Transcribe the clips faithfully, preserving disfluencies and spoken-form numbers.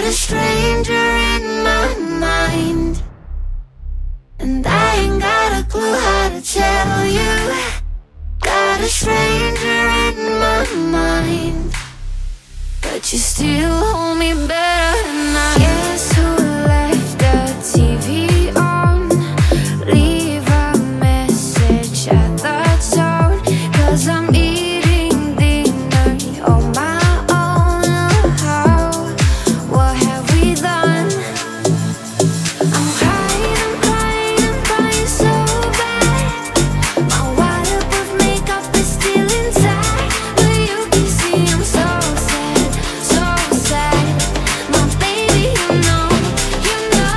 a stranger in my mind, and I ain't got a clue how to tell you. Got a stranger in my mind, but you still hold me better than I. Guess who left the T V on? Leave a message at the tone, 'cause I'm eating dinner on my own. How? What have we done? I'm crying, I'm crying, I'm crying so bad. My waterproof makeup is still inside, but you can see I'm so sad, so sad. My baby, you know, you know.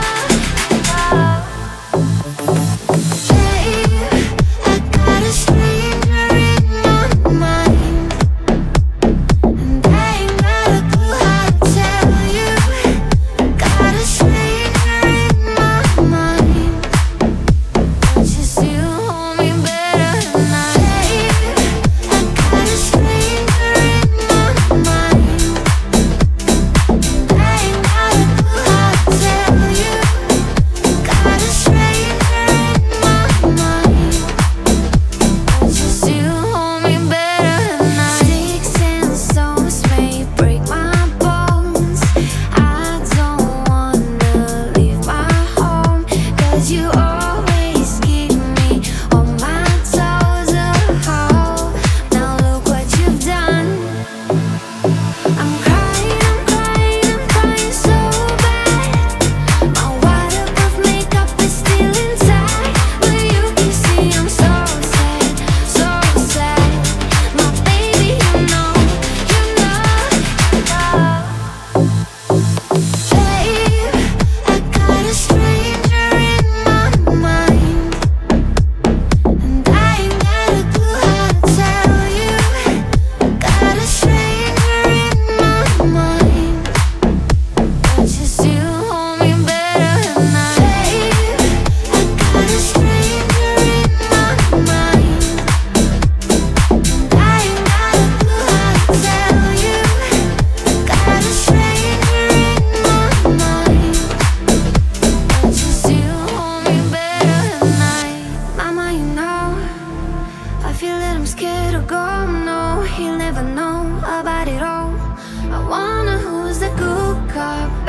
Babe, I got a stranger in my mind, and I ain't got a clue how to tell you. Got a stranger in my mind, but you still hold me better than I. Babe, I got a stranger in my mind, and I ain't got a clue how to tell you. Got a stranger in my mind, but you still hold me better than I. Sticks and stones may break my bones. I don't wanna leave my home, 'cause you always keep me on my toes. Oh, now look what you've done. I'm crying, I'm crying, I'm crying so bad. My waterproof makeup is still inside, but you can see I'm so sad, so sad. My baby, you know, you know. Babe, I got a stranger in my mind, and I ain't got a clue how to tell you. Got a stranger in my mind, but you still hold me better than I. Babe, I got a stranger in my mind, and I ain't got a clue how to tell you. Got a stranger in my mind, but you still hold me better than I. Mama, you know, I feel that I'm scared to go. No, he'll never know about it all. I wonder who's the good cop.